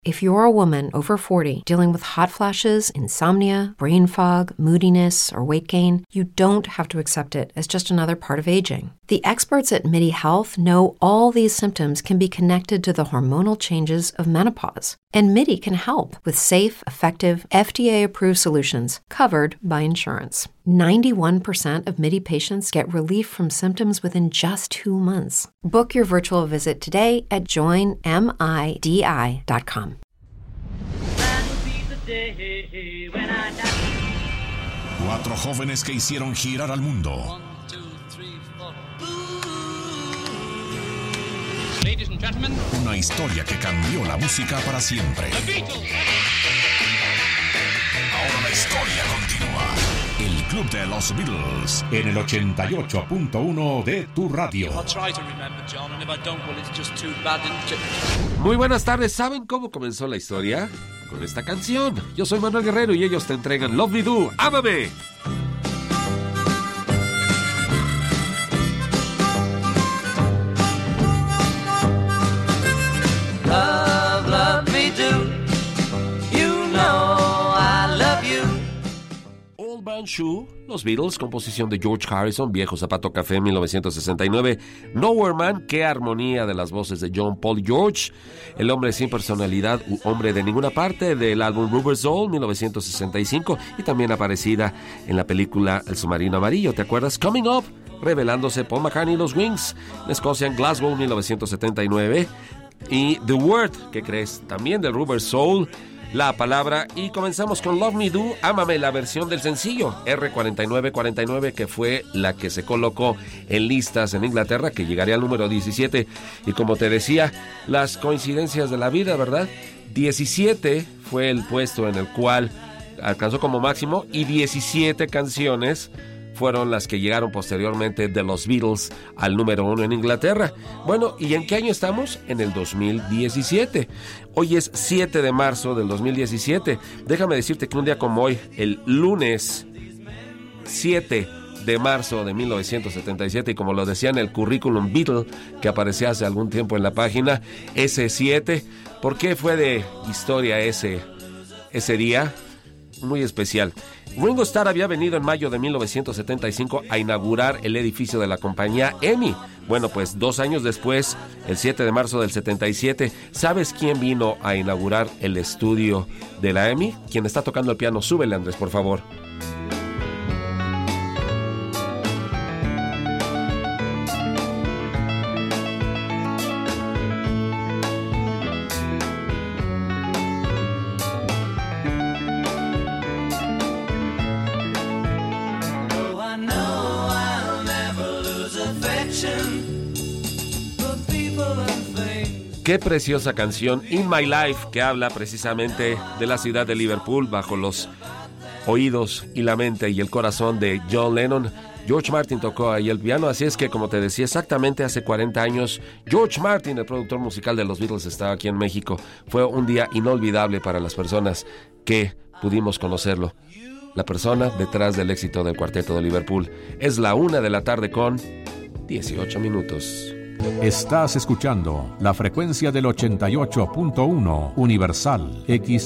If you're a woman over 40 dealing with hot flashes, insomnia, brain fog, moodiness, or weight gain, you don't have to accept it as just another part of aging. The experts at MIDI Health know all these symptoms can be connected to the hormonal changes of menopause. And MIDI can help with safe, effective, FDA-approved solutions covered by insurance. 91% of MIDI patients get relief from symptoms within just 2 months. Book your virtual visit today at joinmidi.com. Cuatro jóvenes que hicieron girar al mundo. 1, 2, 3, 4. Ladies and gentlemen. Una historia que cambió la música para siempre. The Beatles. Ahora la historia continúa. El Club de los Beatles en el 88.1 de tu radio. I'll try to remember, John, and if I don't, well, it's just too bad. Muy buenas tardes. ¿Saben cómo comenzó la historia? Con esta canción. Yo soy Manuel Guerrero y ellos te entregan Love Me Do, Ámame. Love, love me do. You know I love you. Old Man Shoe, los Beatles, composición de George Harrison, Viejo Zapato Café, 1969. Nowhere Man, qué armonía de las voces de John, Paul y George. El hombre sin personalidad, hombre de ninguna parte, del álbum Rubber Soul, 1965, y también aparecida en la película El Submarino Amarillo, ¿te acuerdas? Coming Up, revelándose Paul McCartney y los Wings, en Escocia, en Glasgow, 1979. Y The Word, ¿qué crees? También del Rubber Soul, la palabra. Y comenzamos con Love Me Do, Ámame, la versión del sencillo R4949, que fue la que se colocó en listas en Inglaterra, que llegaría al número 17. Y como te decía, las coincidencias de la vida, ¿verdad? 17 fue el puesto en el cual alcanzó como máximo, y 17 canciones fueron las que llegaron posteriormente de los Beatles al número 1 en Inglaterra. Bueno, ¿y en qué año estamos? En el 2017. Hoy es 7 de marzo del 2017. Déjame decirte que un día como hoy, el lunes 7 de marzo de 1977, y como lo decía en el currículum Beatle que aparecía hace algún tiempo en la página, ese 7, ¿por qué fue de historia ese día? Muy especial. Ringo Starr había venido en mayo de 1975 a inaugurar el edificio de la compañía EMI. Bueno, pues 2 años después, el 7 de marzo del 77, ¿sabes quién vino a inaugurar el estudio de la EMI? Quien está tocando el piano, súbele, Andrés, por favor. Qué preciosa canción, In My Life, que habla precisamente de la ciudad de Liverpool bajo los oídos y la mente y el corazón de John Lennon. George Martin tocó ahí el piano, así es que, como te decía, exactamente hace 40 años, George Martin, el productor musical de los Beatles, estaba aquí en México. Fue un día inolvidable para las personas que pudimos conocerlo. La persona detrás del éxito del Cuarteto de Liverpool. Es la 1 de la tarde con 18 minutos. Estás escuchando la frecuencia del 88.1 Universal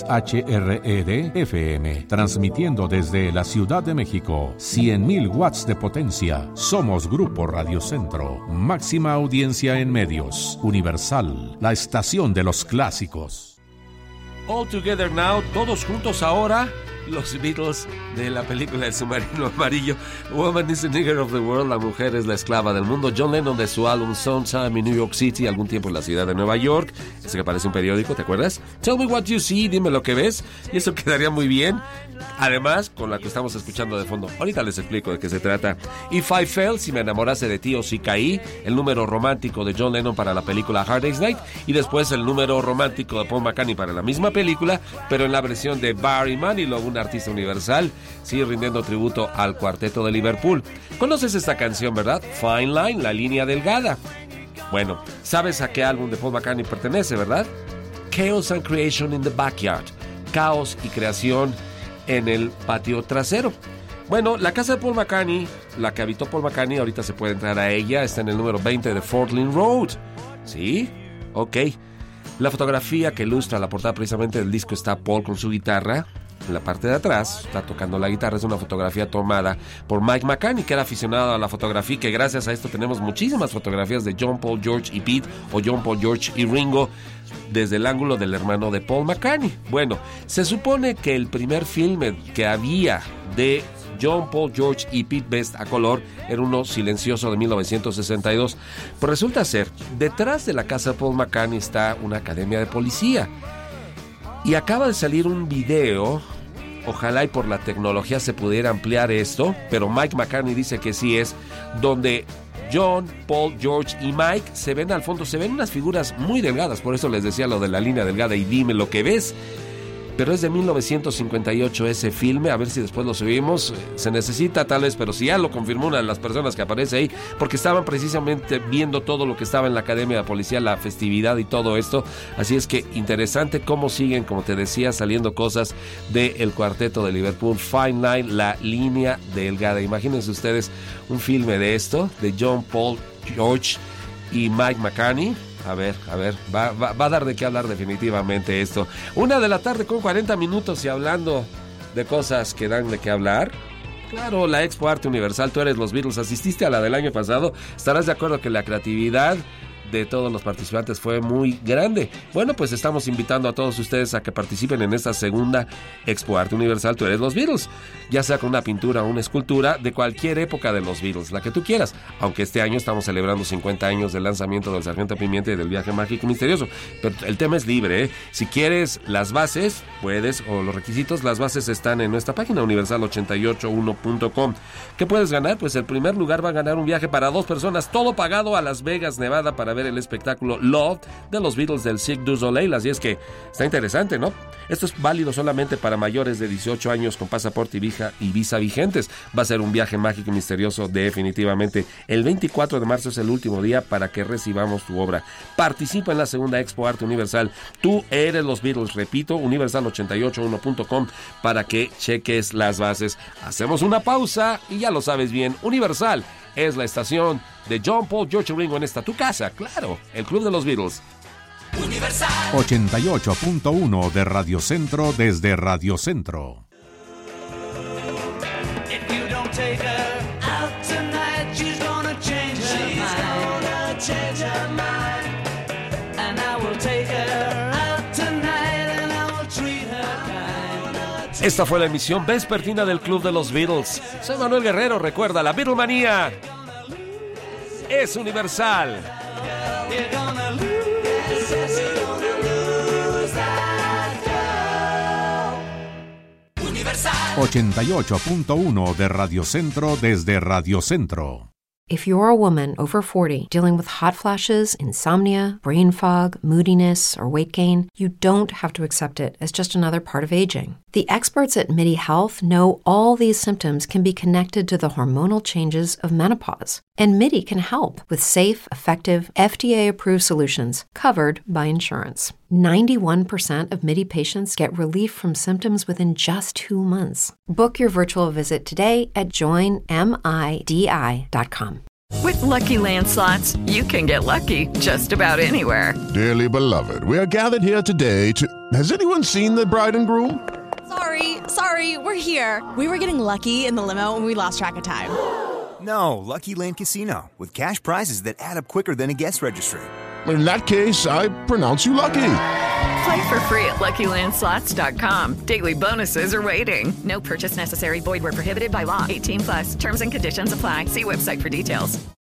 XHRED FM, transmitiendo desde la Ciudad de México, 100.000 watts de potencia. Somos Grupo Radio Centro, máxima audiencia en medios. Universal, la estación de los clásicos. All Together Now, todos juntos ahora. Los Beatles de la película El Submarino Amarillo. Woman is the nigger of the world. La mujer es la esclava del mundo. John Lennon de su álbum Sometime in New York City, algún tiempo en la ciudad de Nueva York. Ese que parece un periódico, ¿te acuerdas? Tell me what you see, dime lo que ves. Y eso quedaría muy bien. Además, con la que estamos escuchando de fondo. Ahorita les explico de qué se trata. If I Fell, si me enamorase de ti o si caí. El número romántico de John Lennon para la película Hard Day's Night. Y después el número romántico de Paul McCartney para la misma película, pero en la versión de Barry Manilow, un artista universal, sigue rindiendo tributo al Cuarteto de Liverpool. ¿Conoces esta canción, verdad? Fine Line, la línea delgada. Bueno, ¿sabes a qué álbum de Paul McCartney pertenece, verdad? Chaos and Creation in the Backyard. Caos y creación en el patio trasero. Bueno, la casa de Paul McCartney, la que habitó Paul McCartney, ahorita se puede entrar a ella, está en el número 20 de Fort Lynn Road. ¿Sí? Ok. La fotografía que ilustra la portada precisamente del disco está Paul con su guitarra. En la parte de atrás está tocando la guitarra. Es una fotografía tomada por Mike McCartney, que era aficionado a la fotografía, que gracias a esto tenemos muchísimas fotografías de John, Paul, George y Pete, o John, Paul, George y Ringo, desde el ángulo del hermano de Paul McCartney. Bueno, se supone que el primer filme que había de John, Paul, George y Pete Best a color era uno silencioso de 1962. Pues resulta ser, detrás de la casa de Paul McCartney está una academia de policía. Y acaba de salir un video, ojalá y por la tecnología se pudiera ampliar esto, pero Mike McCartney dice que sí es, donde John, Paul, George y Mike se ven al fondo, se ven unas figuras muy delgadas, por eso les decía lo de la línea delgada y dime lo que ves. Pero es de 1958 ese filme, a ver si después lo subimos. Se necesita tal vez, pero si ya lo confirmó una de las personas que aparece ahí, porque estaban precisamente viendo todo lo que estaba en la Academia de Policía, la festividad y todo esto. Así es que interesante cómo siguen, como te decía, saliendo cosas del cuarteto de Liverpool, Fine Line, la línea delgada. Imagínense ustedes un filme de esto, de John, Paul, George y Mike McCartney. A ver, va a dar de qué hablar definitivamente esto. 1:40 p.m. y hablando de cosas que dan de qué hablar. Claro, la Expo Arte Universal, tú eres los Beatles, asististe a la del año pasado. Estarás de acuerdo que la creatividad de todos los participantes fue muy grande. Bueno, pues estamos invitando a todos ustedes a que participen en esta segunda Expo Arte Universal, tú eres los Beatles, ya sea con una pintura o una escultura de cualquier época de los Beatles, la que tú quieras, aunque este año estamos celebrando 50 años del lanzamiento del Sargento Pimienta y del Viaje Mágico y Misterioso, pero el tema es libre, ¿eh? Si quieres las bases, puedes, o los requisitos, las bases están en nuestra página universal881.com. ¿Qué puedes ganar? Pues el primer lugar va a ganar un viaje para 2 personas, todo pagado a Las Vegas, Nevada, para ver el espectáculo Love de los Beatles del Cirque du Soleil. Así es que está interesante, ¿no? Esto es válido solamente para mayores de 18 años con pasaporte y visa vigentes. Va a ser un viaje mágico y misterioso definitivamente. El 24 de marzo es el último día para que recibamos tu obra. Participa en la segunda Expo Arte Universal. Tú eres los Beatles, repito, universal881.com para que cheques las bases. Hacemos una pausa y ya lo sabes bien, Universal es la estación de John, Paul, George y Ringo en esta tu casa, claro, el Club de los Beatles. 88.1 de Radio Centro desde Radio Centro. Esta fue la emisión vespertina del Club de los Beatles. Soy Manuel Guerrero, recuerda, la Beatlemanía es universal. 88.1 de Radio Centro desde Radio Centro. If you're a woman over 40 dealing with hot flashes, insomnia, brain fog, moodiness, or weight gain, you don't have to accept it as just another part of aging. The experts at MIDI Health know all these symptoms can be connected to the hormonal changes of menopause. And MIDI can help with safe, effective, FDA-approved solutions covered by insurance. 91% of MIDI patients get relief from symptoms within just 2 months. Book your virtual visit today at joinmidi.com. With Lucky Land Slots, you can get lucky just about anywhere. Dearly beloved, we are gathered here today to... Has anyone seen the bride and groom? Sorry, we're here. We were getting lucky in the limo and we lost track of time. No, Lucky Land Casino, with cash prizes that add up quicker than a guest registry. In that case, I pronounce you lucky. Play for free at LuckyLandSlots.com. Daily bonuses are waiting. No purchase necessary. Void where prohibited by law. 18+. Terms and conditions apply. See website for details.